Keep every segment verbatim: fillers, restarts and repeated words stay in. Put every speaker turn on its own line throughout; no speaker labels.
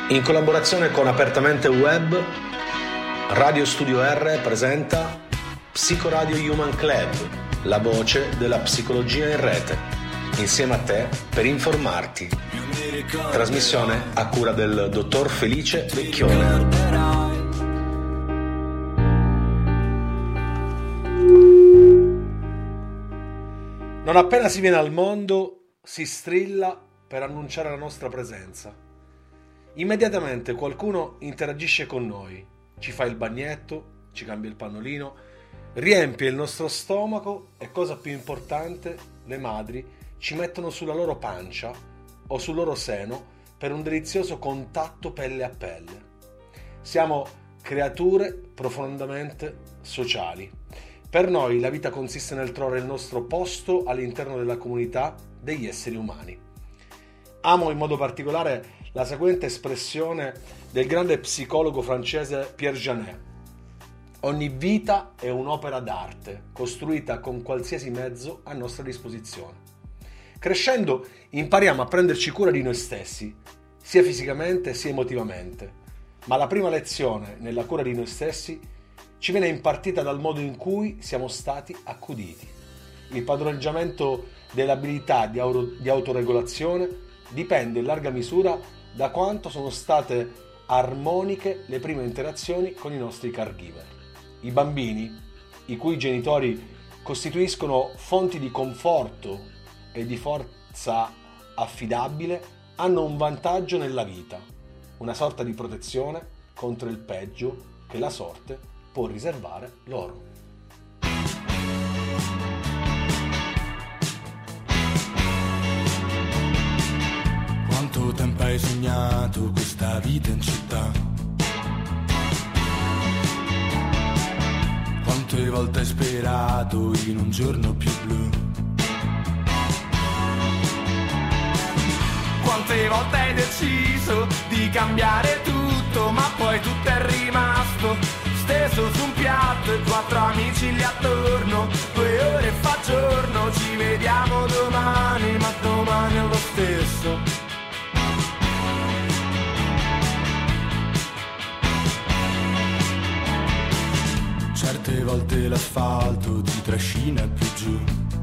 In collaborazione con Apertamente Web, Radio Studio R presenta Psicoradio Human Club, la voce della psicologia in rete, insieme a te per informarti. Trasmissione a cura del dottor Felice Vecchione. Non appena si viene al mondo, si strilla per annunciare la nostra presenza. Immediatamente qualcuno interagisce con noi, ci fa il bagnetto, ci cambia il pannolino, riempie il nostro stomaco e, cosa più importante, le madri ci mettono sulla loro pancia o sul loro seno per un delizioso contatto pelle a pelle. Siamo creature profondamente sociali. Per noi la vita consiste nel trovare il nostro posto all'interno della comunità degli esseri umani. Amo in modo particolare la seguente espressione del grande psicologo francese Pierre Janet: ogni vita è un'opera d'arte costruita con qualsiasi mezzo a nostra disposizione. Crescendo impariamo a prenderci cura di noi stessi, sia fisicamente sia emotivamente, ma la prima lezione nella cura di noi stessi ci viene impartita dal modo in cui siamo stati accuditi. Il padroneggiamento dell'abilità di, auro, di autoregolazione dipende in larga misura da quanto sono state armoniche le prime interazioni con i nostri caregiver. I bambini, i cui genitori costituiscono fonti di conforto e di forza affidabile, hanno un vantaggio nella vita, una sorta di protezione contro il peggio che la sorte può riservare loro.
Quanto tempo hai sognato questa vita in città? Quante volte hai sperato in un giorno più blu? Quante volte hai deciso di cambiare tutto, ma poi tutto è rimasto steso su un piatto e quattro amici lì attorno. Due ore fa giorno, ci vediamo domani, ma domani è lo stesso. Certe volte l'asfalto ti trascina più giù.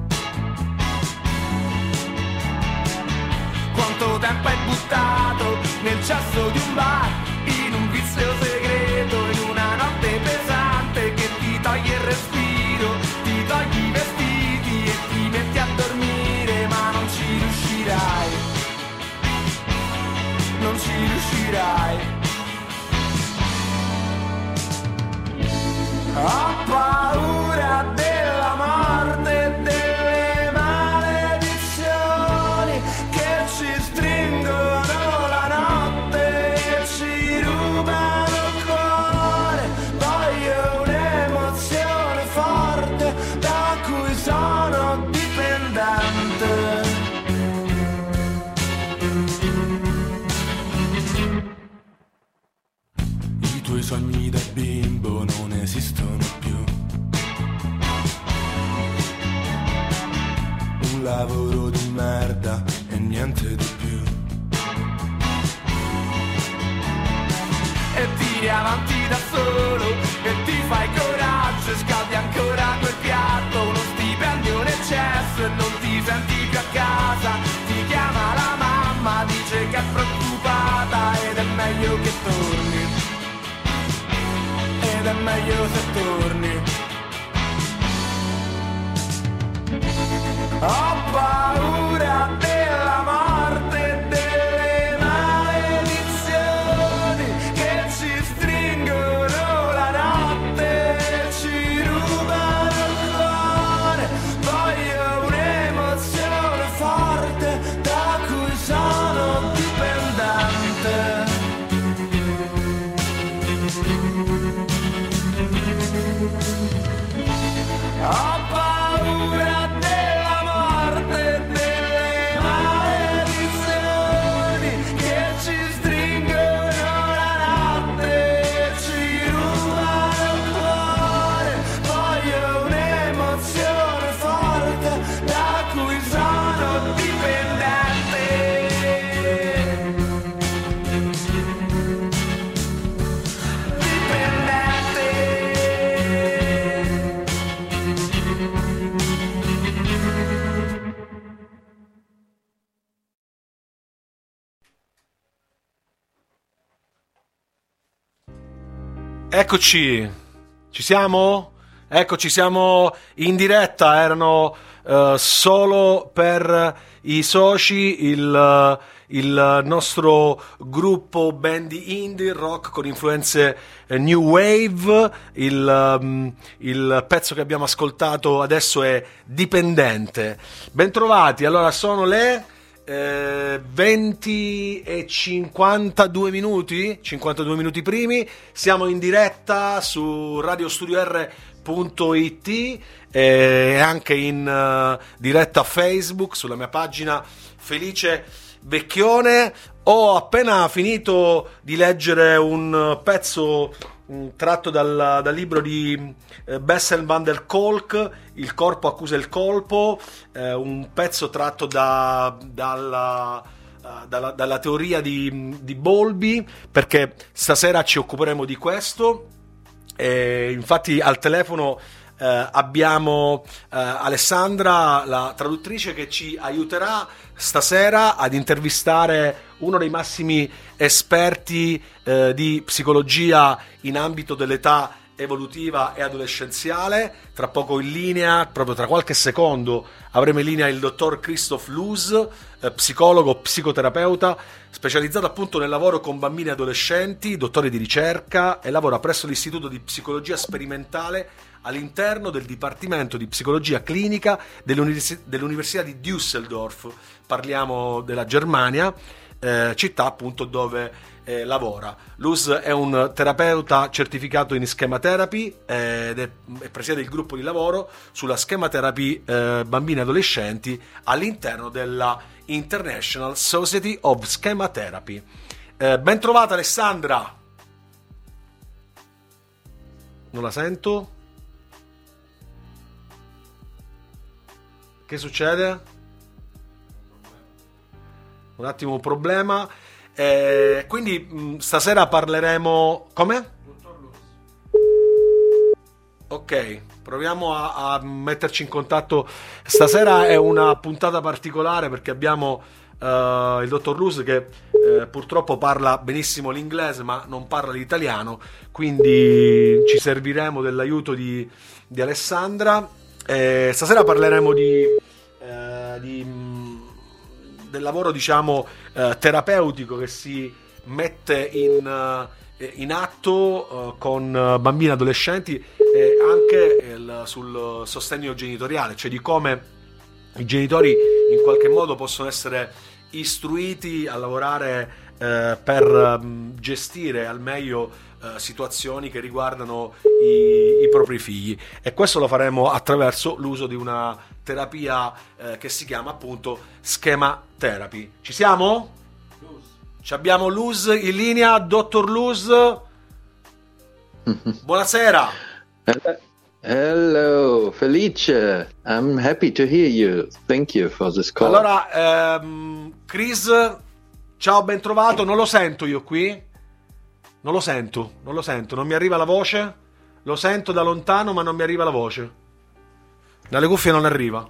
Quanto tempo hai buttato nel cesso di un bar, in un vizio segreto, in una notte pesante che ti toglie il respiro, ti togli i vestiti e ti metti a dormire, ma non ci riuscirai, non ci riuscirai. Ho paura della morte e delle maledizioni che ci stringono la notte e ci rubano il cuore. Voglio un'emozione forte da cui sono dipendente. I tuoi sogni da bimbo non esistono più. Un lavoro di merda e niente di più. E tiri avanti da solo e ti fai coraggio e scaldi ancora quel piatto. Uno stipendio in eccesso e non ti senti più a casa. Ti chiama la mamma, dice che è preoccupata ed è meglio che torni. Ed è meglio se torni. Ho paura della morte e delle maledizioni che ci stringono la notte e ci rubano il cuore. Voglio un'emozione forte da cui sono dipendente. Ho paura della morte
Eccoci, ci siamo? Eccoci, siamo in diretta, erano uh, solo per i soci il, il nostro gruppo band indie rock con influenze eh, new wave, il, um, il pezzo che abbiamo ascoltato adesso è Dipendente. Bentrovati, allora sono le... Eh, venti e cinquantadue minuti, cinquantadue minuti primi, siamo in diretta su radio studio r punto it e eh, anche in uh, diretta Facebook sulla mia pagina Felice Vecchione. Ho appena finito di leggere un pezzo um, tratto dal, dal libro di eh, Bessel van der Kolk, Il corpo accusa il colpo, eh, un pezzo tratto da, dalla, uh, dalla, dalla teoria di, di Bowlby, perché stasera ci occuperemo di questo. E infatti al telefono eh, abbiamo eh, Alessandra, la traduttrice, che ci aiuterà stasera ad intervistare uno dei massimi esperti eh, di psicologia in ambito dell'età evolutiva e adolescenziale. Tra poco in linea, proprio tra qualche secondo, avremo in linea il dottor Christoph Loos, eh, psicologo, psicoterapeuta, specializzato appunto nel lavoro con bambini e adolescenti, dottore di ricerca, e lavora presso l'Istituto di Psicologia Sperimentale all'interno del Dipartimento di Psicologia Clinica dell'Univers- dell'Università di Düsseldorf. Parliamo della Germania, eh, città appunto dove Eh, lavora. Loos è un terapeuta certificato in schema therapy eh, ed è, è presiede il gruppo di lavoro sulla schema therapy eh, bambini e adolescenti all'interno della International Society of Schema Therapy. Eh, ben trovata Alessandra. Non la sento. Che succede? Un attimo, un problema. Eh, quindi mh, stasera parleremo... Come? Ok, proviamo a, a metterci in contatto. Stasera è una puntata particolare perché abbiamo uh, il dottor Loos che uh, purtroppo parla benissimo l'inglese ma non parla l'italiano, quindi ci serviremo dell'aiuto di, di Alessandra. Eh, stasera parleremo di... Uh, di del lavoro, diciamo, eh, terapeutico che si mette in, eh, in atto eh, con bambini e adolescenti, e anche il, sul sostegno genitoriale, cioè di come i genitori in qualche modo possono essere istruiti a lavorare eh, per um, gestire al meglio Uh, situazioni che riguardano i, i propri figli, e questo lo faremo attraverso l'uso di una terapia uh, che si chiama appunto schema therapy. Ci siamo? Ci abbiamo Loos in linea. Dottor Loos, buonasera.
Hello, Felice. I'm happy to hear you. Thank you for this call.
Allora, ehm, Chris, ciao, ben trovato. Non lo sento io qui. Non lo sento, non lo sento, non mi arriva la voce, lo sento da lontano ma non mi arriva la voce. Dalle cuffie non arriva.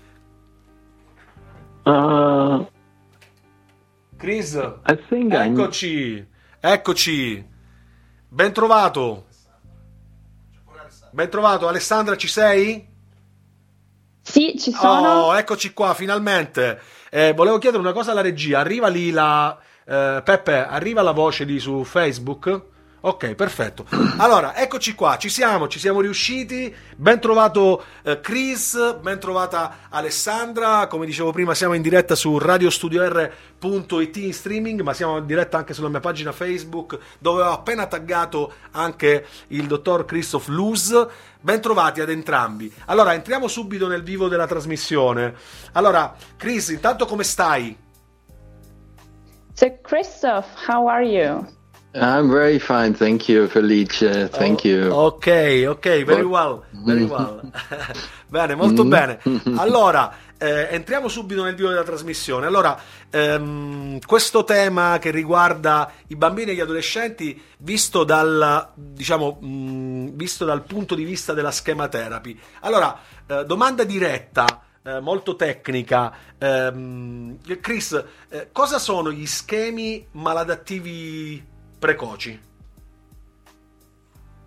Uh,
Chris,
I think
eccoci, I... eccoci, ben trovato. Ben trovato, Alessandra, ci sei?
Sì, ci sono.
Oh, eccoci qua, finalmente. Eh, volevo chiedere una cosa alla regia, arriva lì la... Uh, Peppe, arriva la voce di su Facebook? Ok, perfetto. Allora, eccoci qua, ci siamo, ci siamo riusciti. Ben trovato uh, Chris, ben trovata Alessandra. Come dicevo prima, siamo in diretta su radio studio r punto it in streaming, ma siamo in diretta anche sulla mia pagina Facebook, dove ho appena taggato anche il dottor Christoph Loos. Ben trovati ad entrambi. Allora, entriamo subito nel vivo della trasmissione. Allora, Chris, intanto come stai?
So, Christoph, how are you?
I'm very fine, thank you, Felice. Thank
oh,
you.
Ok, ok, very well, very well. Bene, molto bene. Allora, eh, entriamo subito nel vivo della trasmissione. Allora, ehm, questo tema che riguarda i bambini e gli adolescenti, visto dal, diciamo, mh, visto dal punto di vista della schema therapy. Allora, eh, domanda diretta. Eh, molto tecnica. Eh, Chris, eh, cosa sono gli schemi maladattivi precoci?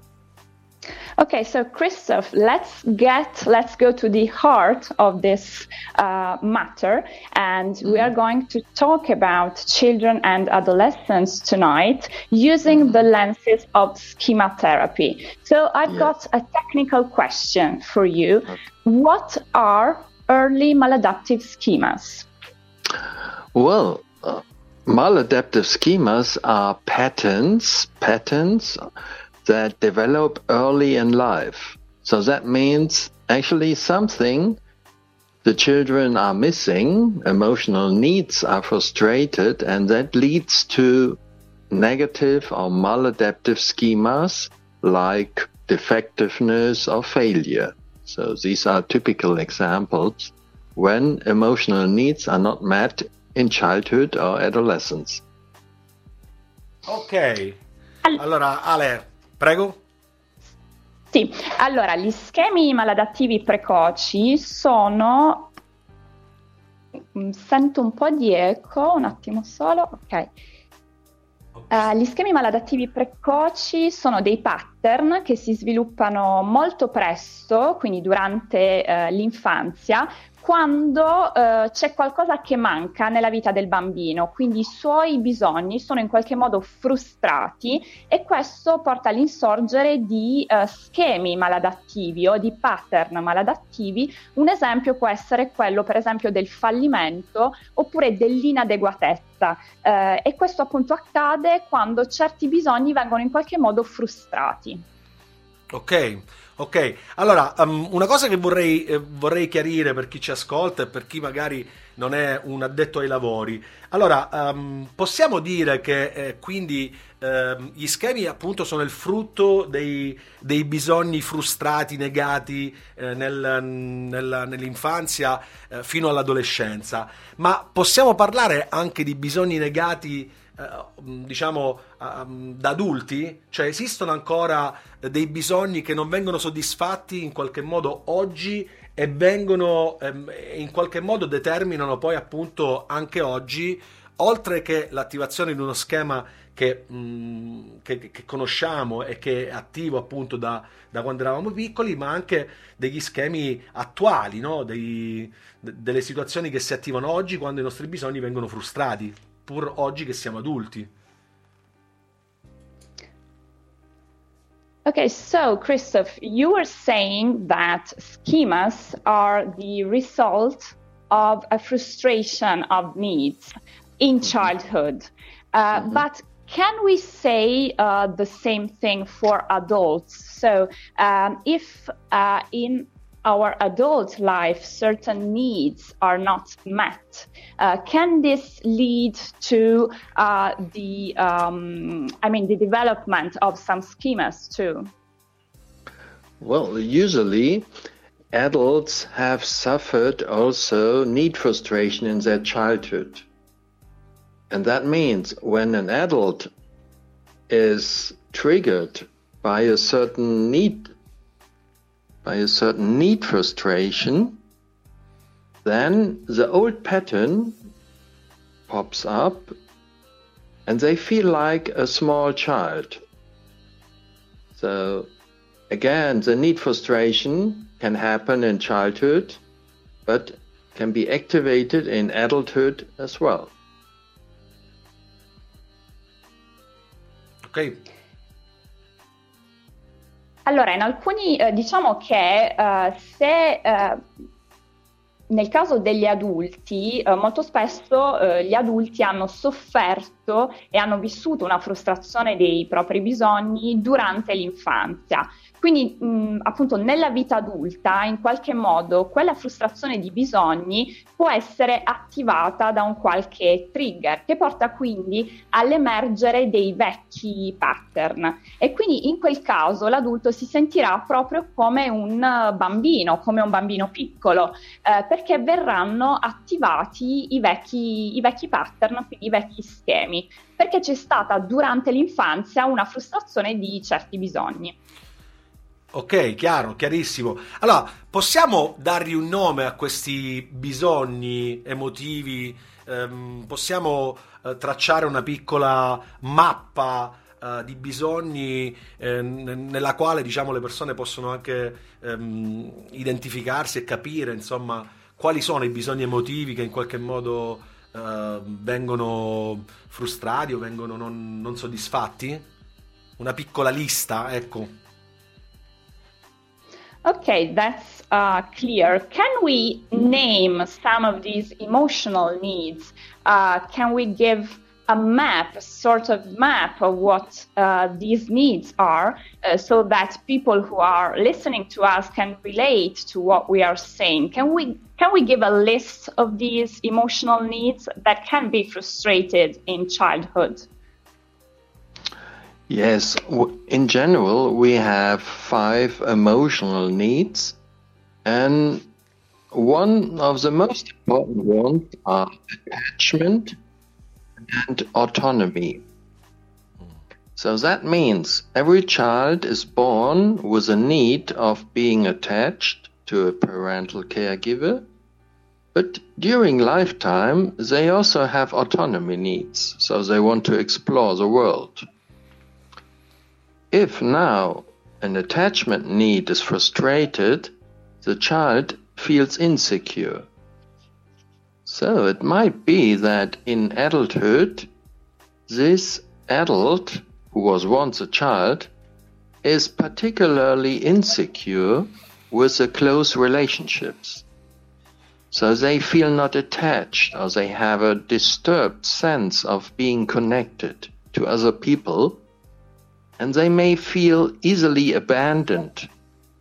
Okay, so Christoph, let's get let's go to the heart of this uh, matter, and mm-hmm. we are going to talk about children and adolescents tonight using mm-hmm. the lenses of schema therapy. So I've yeah. got a technical question for you. Okay. What are early maladaptive schemas?
Well, uh, maladaptive schemas are patterns, patterns that develop early in life. So that means actually something the children are missing, emotional needs are frustrated, and that leads to negative or maladaptive schemas like defectiveness or failure. So these are typical examples when emotional needs are not met in childhood or adolescence.
Ok, allora Ale, prego.
Sì, allora gli schemi maladattivi precoci sono... Sento un po' di eco, un attimo solo, ok. Uh, gli schemi maladattivi precoci sono dei pattern che si sviluppano molto presto, quindi durante uh, l'infanzia, quando uh, c'è qualcosa che manca nella vita del bambino, quindi i suoi bisogni sono in qualche modo frustrati e questo porta all'insorgere di uh, schemi maladattivi o di pattern maladattivi. Un esempio può essere quello, per esempio, del fallimento oppure dell'inadeguatezza uh, e questo appunto accade quando certi bisogni vengono in qualche modo frustrati.
Ok. Ok, allora um, una cosa che vorrei, eh, vorrei chiarire per chi ci ascolta e per chi magari non è un addetto ai lavori. Allora, um, possiamo dire che eh, quindi eh, gli schemi appunto sono il frutto dei, dei bisogni frustrati, negati eh, nel, nel, nell'infanzia eh, fino all'adolescenza, ma possiamo parlare anche di bisogni negati diciamo da adulti? Cioè esistono ancora dei bisogni che non vengono soddisfatti in qualche modo oggi e vengono in qualche modo determinano poi appunto anche oggi, oltre che l'attivazione di uno schema che, mh, che, che conosciamo e che è attivo appunto da, da quando eravamo piccoli, ma anche degli schemi attuali, no? Dei, de, delle situazioni che si attivano oggi quando i nostri bisogni vengono frustrati, pur oggi che siamo adulti.
Okay, so Christoph, you were saying that schemas are the result of a frustration of needs in childhood. Uh, mm-hmm. But can we say uh, the same thing for adults? So um, if uh, in our adult life certain needs are not met, uh, can this lead to uh, the um, I mean the development of some schemas too?
Well, usually adults have suffered also need frustration in their childhood, and that means when an adult is triggered by a certain need by a certain need frustration, then the old pattern pops up and they feel like a small child. So again, the need frustration can happen in childhood, but can be activated in adulthood as well.
Okay.
Allora, in alcuni, eh, diciamo che eh, se eh, nel caso degli adulti, eh, molto spesso eh, gli adulti hanno sofferto e hanno vissuto una frustrazione dei propri bisogni durante l'infanzia. Quindi mh, appunto nella vita adulta in qualche modo quella frustrazione di bisogni può essere attivata da un qualche trigger che porta quindi all'emergere dei vecchi pattern e quindi in quel caso l'adulto si sentirà proprio come un bambino, come un bambino piccolo, eh, perché verranno attivati i vecchi, i vecchi pattern, quindi i vecchi schemi, perché c'è stata durante l'infanzia una frustrazione di certi bisogni.
Ok, chiaro, chiarissimo. Allora, possiamo dargli un nome a questi bisogni emotivi? Ehm, possiamo eh, tracciare una piccola mappa uh, di bisogni eh, n- nella quale, diciamo, le persone possono anche um, identificarsi e capire, insomma, quali sono i bisogni emotivi che in qualche modo uh, vengono frustrati o vengono non, non soddisfatti? Una piccola lista, ecco.
Okay, that's uh, clear. Can we name some of these emotional needs? Uh, can we give a map, a sort of map of what uh, these needs are, uh, so that people who are listening to us can relate to what we are saying? Can we can we give a list of these emotional needs that can be frustrated in childhood?
Yes, in general, we have five emotional needs, and one of the most important ones are attachment and autonomy. So that means every child is born with a need of being attached to a parental caregiver, but during lifetime, they also have autonomy needs, so they want to explore the world. If now an attachment need is frustrated, the child feels insecure. So it might be that in adulthood, this adult, who was once a child, is particularly insecure with the close relationships. So they feel not attached, or they have a disturbed sense of being connected to other people, and they may feel easily abandoned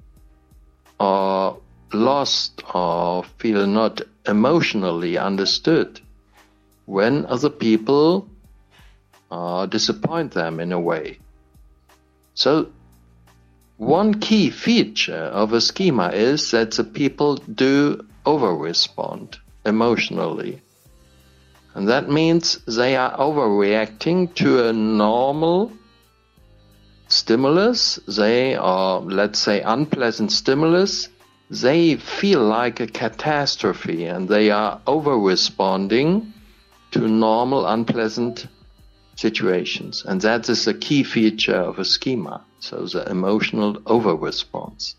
or lost or feel not emotionally understood when other people uh, disappoint them in a way. So one key feature of a schema is that the people do over-respond emotionally. And that means they are overreacting to a normal stimulus, they are, let's say, unpleasant stimulus. They feel like a catastrophe and they are over-responding to normal, unpleasant situations. And that is a key feature of a schema, so the emotional over-response.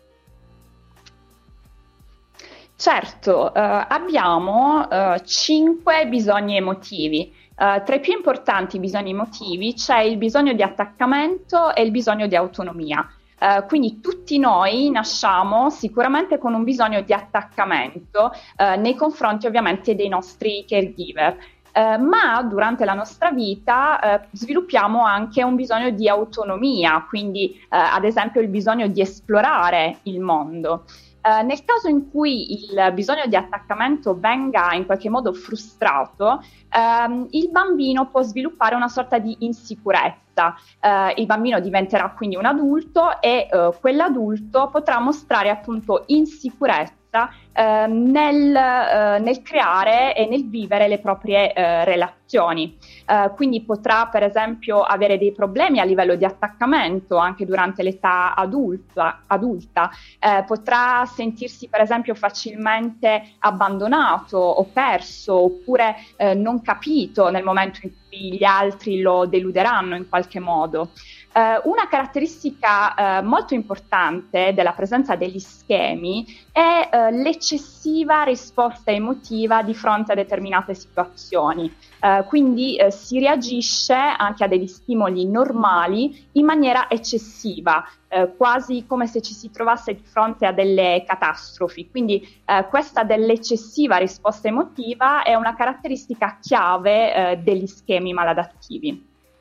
Certo, eh, abbiamo eh, cinque bisogni emotivi. Uh, tra i più importanti bisogni emotivi c'è il bisogno di attaccamento e il bisogno di autonomia. Uh, quindi tutti noi nasciamo sicuramente con un bisogno di attaccamento uh, nei confronti ovviamente dei nostri caregiver. Uh, ma durante la nostra vita uh, sviluppiamo anche un bisogno di autonomia, quindi uh, ad esempio il bisogno di esplorare il mondo. Uh, nel caso in cui il bisogno di attaccamento venga in qualche modo frustrato, um, il bambino può sviluppare una sorta di insicurezza. Uh, il bambino diventerà quindi un adulto e uh, quell'adulto potrà mostrare appunto insicurezza Uh, nel, uh, nel creare e nel vivere le proprie uh, relazioni. Uh, quindi potrà per esempio avere dei problemi a livello di attaccamento anche durante l'età adulta, adulta. Uh, potrà sentirsi per esempio facilmente abbandonato o perso oppure uh, non capito nel momento in cui gli altri lo deluderanno in qualche modo. Uh, una caratteristica uh, molto importante della presenza degli schemi è uh, l'eccessiva risposta emotiva di fronte a determinate situazioni. Uh, quindi uh, si reagisce anche a degli stimoli normali in maniera eccessiva, uh, quasi come se ci si trovasse di fronte a delle catastrofi. Quindi uh, questa dell'eccessiva risposta emotiva è una caratteristica chiave uh, degli schemi maladattivi.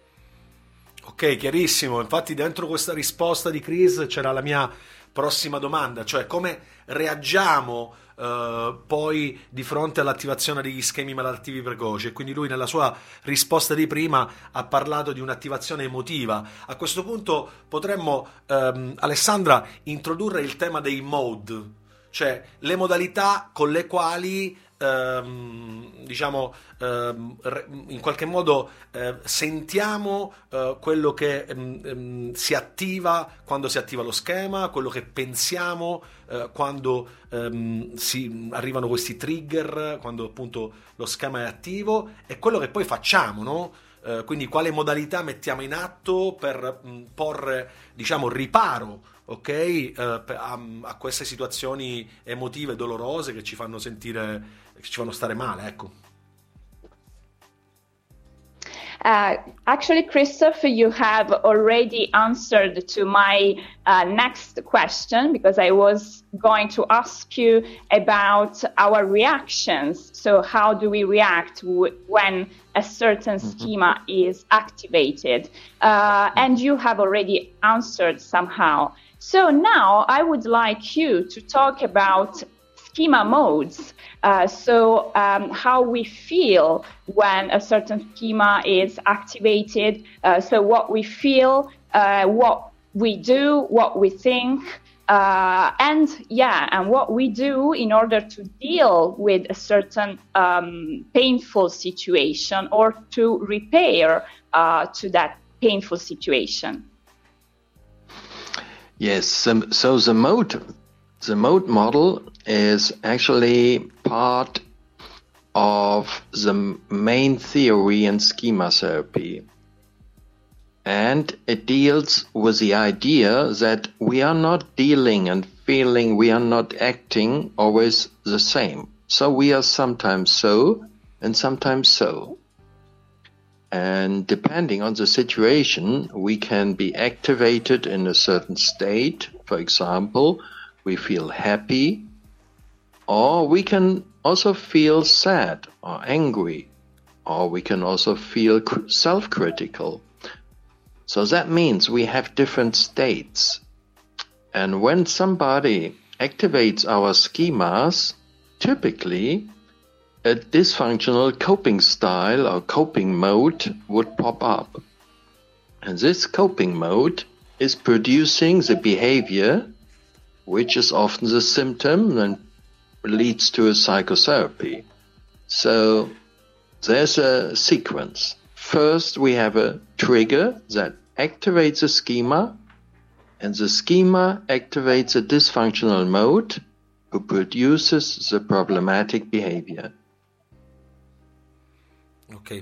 Ok, chiarissimo. Infatti dentro questa risposta di Chris c'era la mia prossima domanda, cioè come reagiamo uh, poi di fronte all'attivazione degli schemi maladdattivi precoci. E quindi lui nella sua risposta di prima ha parlato di un'attivazione emotiva. A questo punto potremmo, um, Alessandra, introdurre il tema dei mode, cioè le modalità con le quali Ehm, diciamo ehm, in qualche modo eh, sentiamo eh, quello che ehm, si attiva quando si attiva lo schema, quello che pensiamo eh, quando ehm, si arrivano questi trigger, quando appunto lo schema è attivo, e quello che poi facciamo, no? eh, quindi quale modalità mettiamo in atto per mh, porre, diciamo, riparo, ok, eh, a, a queste situazioni emotive dolorose che ci fanno sentire, che ci fanno stare male, ecco.
Uh, actually, Christopher, you have already answered to my uh, next question, because I was going to ask you about our reactions. So how do we react w- when a certain schema is activated? Uh, and you have already answered somehow. So now I would like you to talk about schema modes. Uh, so um, how we feel when a certain schema is activated. Uh, so what we feel, uh, what we do, what we think, uh, and yeah, and what we do in order to deal with a certain um, painful situation or to repair uh, to that painful situation.
Yes, um, so the mode, the mode model is actually part of the main theory in schema therapy. And it deals with the idea that we are not dealing and feeling, we are not acting always the same. So we are sometimes so and sometimes so. And depending on the situation, we can be activated in a certain state. For example, we feel happy, or we can also feel sad or angry, or we can also feel self-critical. So that means we have different states. And when somebody activates our schemas, typically a dysfunctional coping style or coping mode would pop up. And this coping mode is producing the behavior, which is often the symptom and leads to a psychotherapy. So there's a sequence. First, we have a trigger that activates a schema, and the schema activates a dysfunctional mode who produces the problematic behavior.
Ok.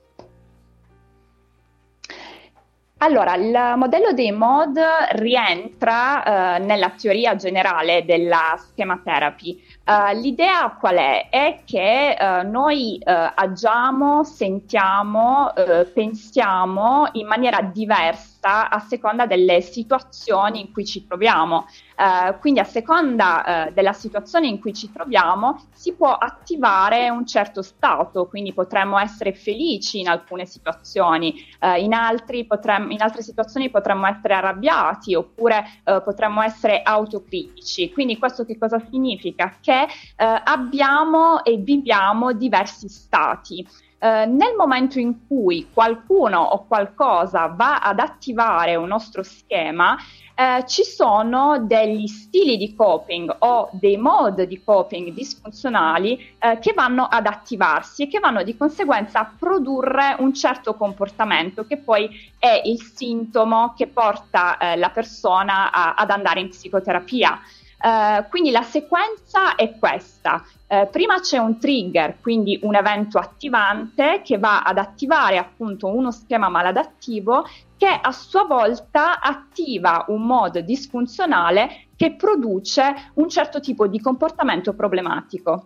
Allora, il modello dei mod rientra eh, nella teoria generale della schema therapy. Uh, l'idea qual è? È che uh, noi uh, agiamo, sentiamo, uh, pensiamo in maniera diversa a seconda delle situazioni in cui ci troviamo. Uh, quindi a seconda uh, della situazione in cui ci troviamo si può attivare un certo stato, quindi potremmo essere felici in alcune situazioni, uh, in, altri potremmo, in altre situazioni potremmo essere arrabbiati oppure uh, potremmo essere autocritici. Quindi questo che cosa significa? Che Uh, abbiamo e viviamo diversi stati. Uh, nel momento in cui qualcuno o qualcosa va ad attivare un nostro schema, uh, ci sono degli stili di coping o dei modi di coping disfunzionali uh, che vanno ad attivarsi e che vanno di conseguenza a produrre un certo comportamento che poi è il sintomo che porta uh, la persona a, ad andare in psicoterapia. Uh, quindi la sequenza è questa. Uh, prima c'è un trigger, quindi un evento attivante che va ad attivare appunto uno schema maladattivo che a sua volta attiva un modo disfunzionale che produce un certo tipo di comportamento problematico.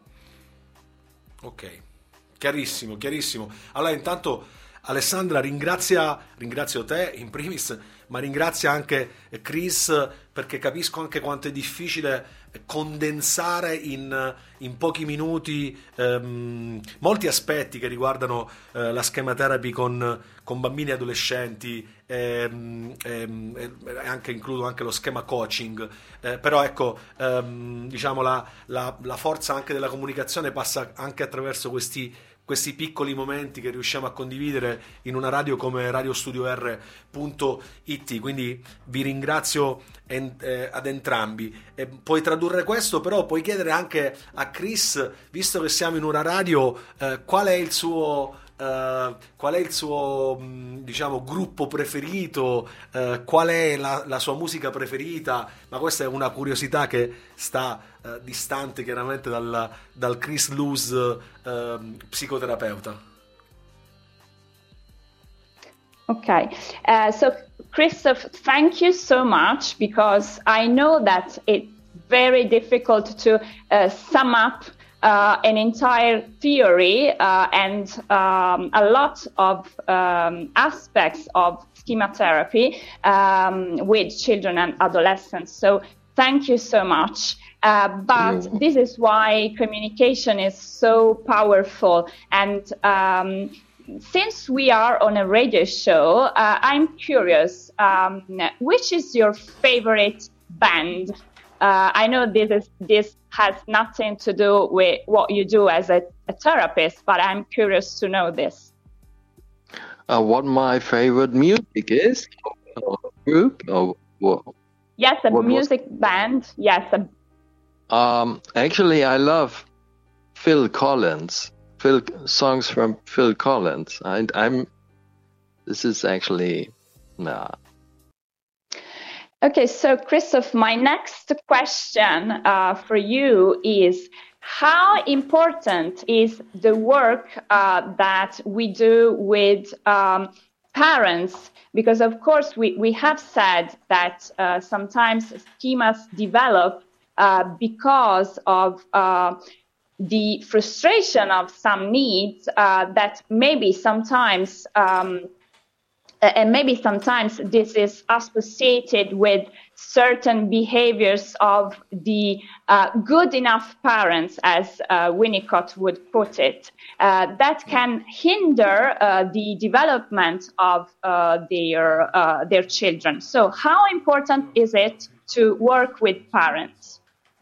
Ok, chiarissimo, chiarissimo. Allora intanto Alessandra ringrazia, ringrazio te in primis, ma ringrazia anche Chris, perché capisco anche quanto è difficile condensare in, in pochi minuti ehm, molti aspetti che riguardano eh, la schema therapy con, con bambini e adolescenti, ehm, ehm, e anche includo anche lo schema coaching, eh, però ecco, ehm, diciamo la, la, la forza anche della comunicazione passa anche attraverso questi questi piccoli momenti che riusciamo a condividere in una radio come radio studio R punto it. Quindi vi ringrazio en- eh, ad entrambi. E puoi tradurre questo, però puoi chiedere anche a Chris, visto che siamo in una radio, eh, qual è il suo Uh, qual è il suo mh, diciamo gruppo preferito, uh, qual è la, la sua musica preferita, ma questa è una curiosità che sta uh, distante chiaramente dal, dal Chris Luz uh, psicoterapeuta.
Okay, uh, so Christoph, thank you so much, because I know that it's very difficult to uh, sum up uh, an entire theory uh, and um, a lot of um, aspects of schema therapy um, with children and adolescents. So thank you so much. Uh, but
Yeah.
this is why communication is so powerful. And um, since we are on a radio show, uh, I'm curious, um, which is your favorite band? Uh, I know this is this has nothing to do with what you do as a, a therapist, but I'm curious to know this.
Uh, what my favorite music is, or group, or what?
Yes, a
What was-
music band. Yes, a,
Um, actually, I love Phil Collins. Phil songs from Phil Collins. And I'm. This is actually, nah.
Okay, so Christoph, my next question uh, for you is, how important is the work uh, that we do with um, parents? Because of course we, we have said that uh, sometimes schemas develop uh, because of uh, the frustration of some needs uh, that maybe sometimes um, and maybe sometimes this is associated with certain behaviors of the uh, good enough parents, as uh, Winnicott would put it, uh, that can hinder uh, the development of uh, their uh, their children. So how important is it to work with parents?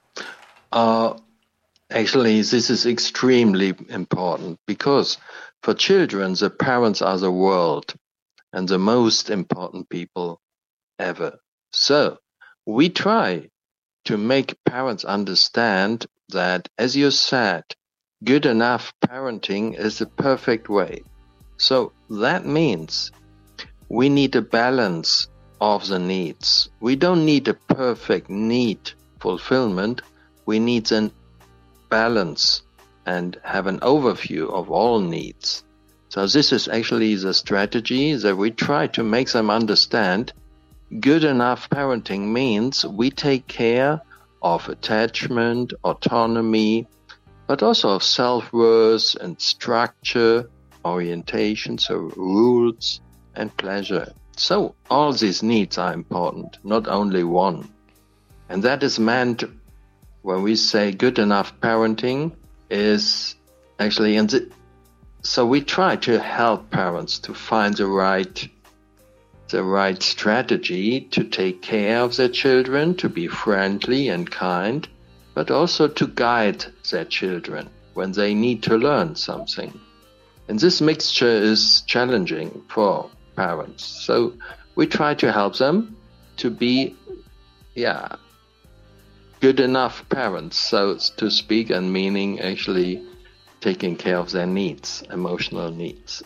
Uh, actually, this is extremely important because for children, the parents are the world and the most important people ever. So we try to make parents understand that, as you said, good enough parenting is the perfect way. So that means we need a balance of the needs. We don't need a perfect need fulfillment. We need a balance and have an overview of all needs. So this is actually the strategy that we try to make them understand. Good enough parenting means we take care of attachment, autonomy, but also of self-worth and structure, orientation, so rules and pleasure. So all these needs are important, not only one. And that is meant when we say good enough parenting is actually in the So we try to help parents to find the right, the right strategy to take care of their children, to be friendly and kind, but also to guide their children when they need to learn something. And this mixture is challenging for parents. So we try to help them to be, yeah, good enough parents, so to speak, and meaning actually taking care of their needs, emotional needs.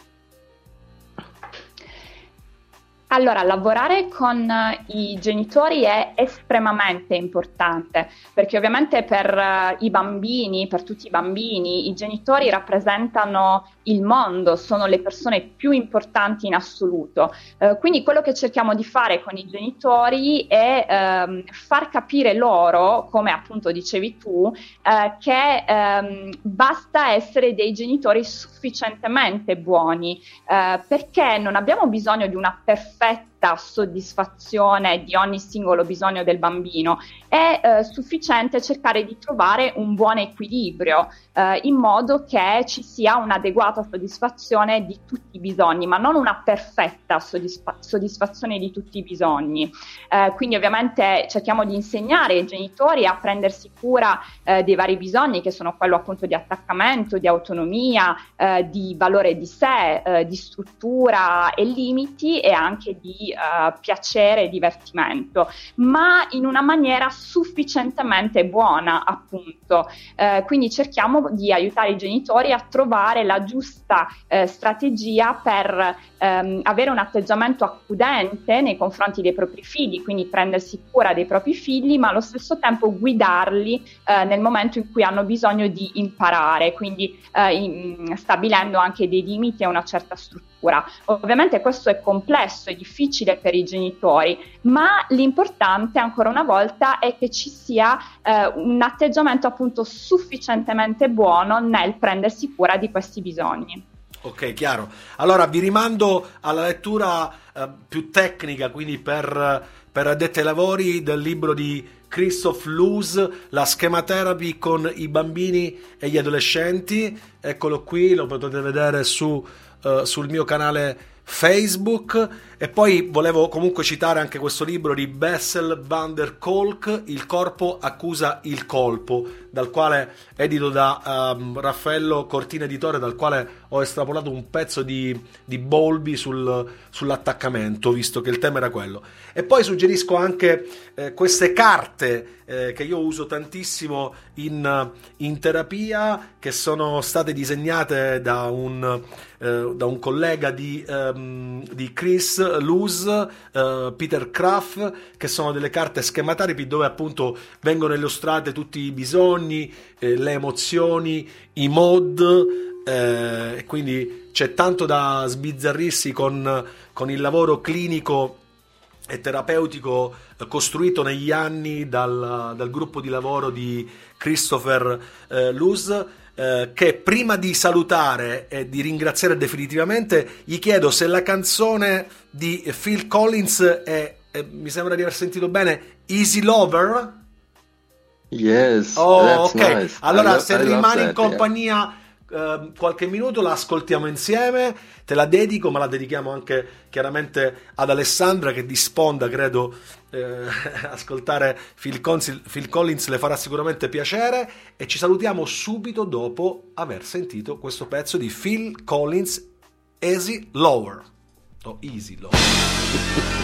Allora, lavorare con i genitori è estremamente importante, perché ovviamente per uh, i bambini, per tutti i bambini, i genitori rappresentano il mondo, sono le persone più importanti in assoluto. Uh, quindi quello che cerchiamo di fare con i genitori è um, far capire loro, come appunto dicevi tu, uh, che um, basta essere dei genitori sufficientemente buoni, uh, perché non abbiamo bisogno di una perfetta soddisfazione di ogni singolo bisogno del bambino. È eh, sufficiente cercare di trovare un buon equilibrio eh, in modo che ci sia un'adeguata soddisfazione di tutti i bisogni, ma non una perfetta soddisfa- soddisfazione di tutti i bisogni. Eh, quindi ovviamente cerchiamo di insegnare ai genitori a prendersi cura eh, dei vari bisogni, che sono quello appunto di attaccamento, di autonomia, eh, di valore di sé, eh, di struttura e limiti, e anche di uh, piacere e divertimento, ma in una maniera sufficientemente buona, appunto. Uh, quindi cerchiamo di aiutare i genitori a trovare la giusta uh, strategia per um, avere un atteggiamento accudente nei confronti dei propri figli, quindi prendersi cura dei propri figli, ma allo stesso tempo guidarli uh, nel momento in cui hanno bisogno di imparare, quindi uh, in, stabilendo anche dei limiti e una certa struttura. cura. Ovviamente questo è complesso, è difficile per i genitori, ma l'importante ancora una volta è che ci sia eh, un atteggiamento appunto sufficientemente buono nel prendersi cura di questi bisogni.
Ok, chiaro. Allora vi rimando alla lettura eh, più tecnica, quindi per, per addetti ai lavori, del libro di Christoph Loos, La schematherapy con i bambini e gli adolescenti. Eccolo qui, lo potete vedere su, eh, sul mio canale Facebook. E poi volevo comunque citare anche questo libro di Bessel van der Kolk, Il corpo accusa il colpo, dal quale, edito da um, Raffaello Cortina Editore, dal quale ho estrapolato un pezzo di, di Bowlby sul, sull'attaccamento, visto che il tema era quello. E poi suggerisco anche eh, queste carte eh, che io uso tantissimo in, in terapia, che sono state disegnate da un, eh, da un collega di, um, di Chris Loos, uh, Peter Kraft, che sono delle carte schemataripi dove appunto vengono illustrate tutti i bisogni, eh, le emozioni, i mod, eh, e quindi c'è tanto da sbizzarrirsi con, con il lavoro clinico e terapeutico costruito negli anni dal, dal gruppo di lavoro di Christopher eh, Loos. Eh, che prima di salutare e di ringraziare definitivamente gli chiedo se la canzone di Phil Collins è, è mi sembra di aver sentito bene, Easy Lover.
Yes,
oh,
that's
ok,
nice.
allora
lo-
se
I love
rimani in
that,
compagnia eh, qualche minuto la ascoltiamo insieme, te la dedico, ma la dedichiamo anche chiaramente ad Alessandra, che di sponda credo eh, ascoltare Phil Collins, Phil Collins le farà sicuramente piacere, e ci salutiamo subito dopo aver sentito questo pezzo di Phil Collins, Easy Lower o Easy Lower.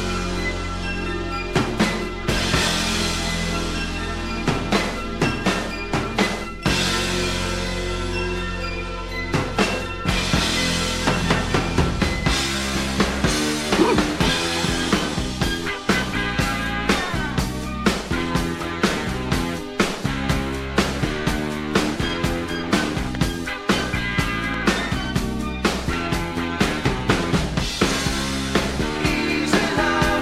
Easy lover.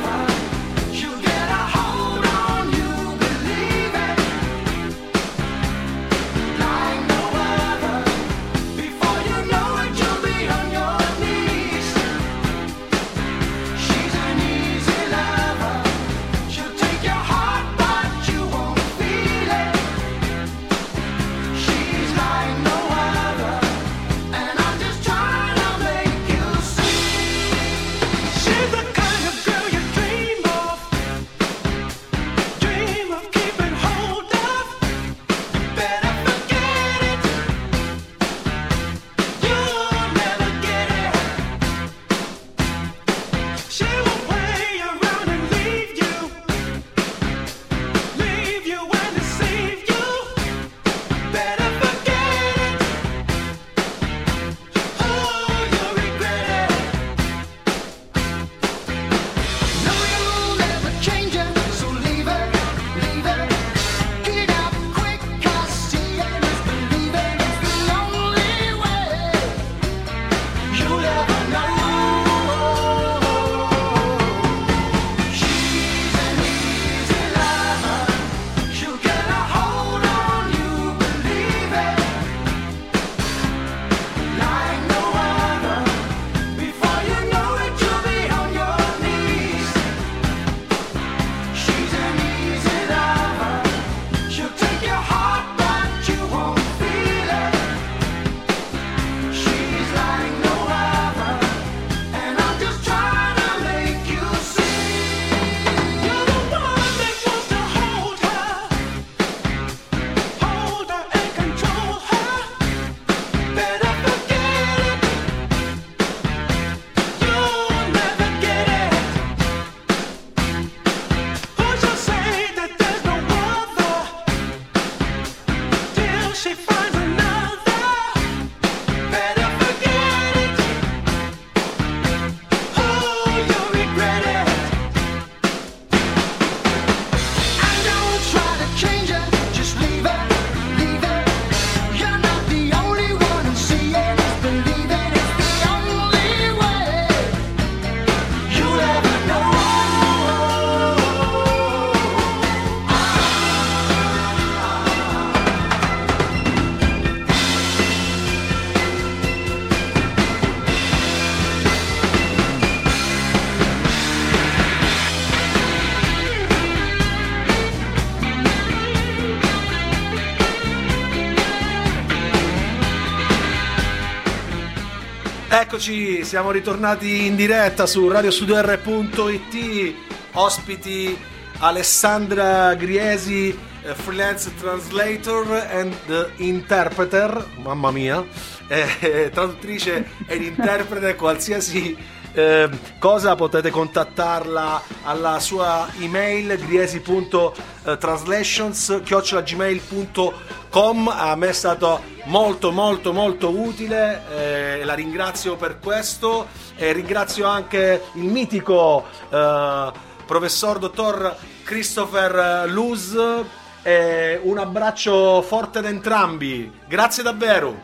eccoci, siamo ritornati in diretta su radio studio r punto it, ospiti Alessandra Griesi, eh, freelance translator and interpreter, mamma mia, eh, traduttrice ed interprete, qualsiasi eh, cosa potete contattarla alla sua email griesi punto translations chiocciola gmail punto com. A me è stato molto molto molto utile, eh, la ringrazio per questo, e ringrazio anche il mitico eh, professor dottor Christopher Luz, e un abbraccio forte ad entrambi, grazie davvero.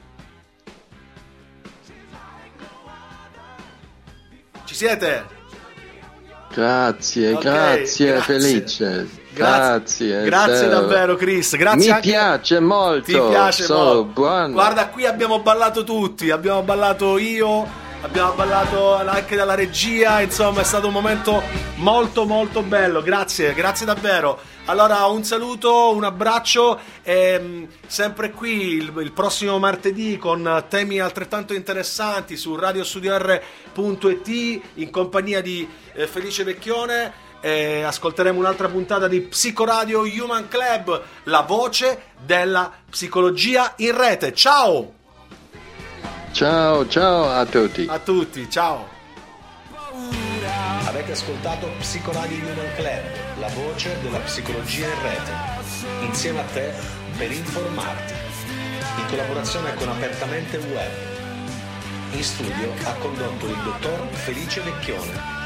Ci siete?
Grazie,
Okay,
grazie,
grazie.
Felice.
Grazie,
Grazie,
grazie
davvero.
davvero Chris, grazie.
Mi
anche...
piace molto.
Ti piace
Sono
molto.
buono.
Guarda, qui abbiamo ballato tutti, abbiamo ballato io, abbiamo ballato anche dalla regia, insomma è stato un momento molto molto bello, grazie, grazie davvero. Allora un saluto, un abbraccio, e mh, sempre qui il, il prossimo martedì con temi altrettanto interessanti su radio studio r punto it in compagnia di eh, Felice Vecchione. E ascolteremo un'altra puntata di Psicoradio Human Club, la voce della psicologia in rete. Ciao
Ciao, ciao a tutti.
a tutti, ciao. Avete ascoltato Psicoradio Human Club, la voce della psicologia in rete, insieme a te per informarti, in collaborazione con Apertamente Web. In studio ha condotto il dottor Felice Vecchione.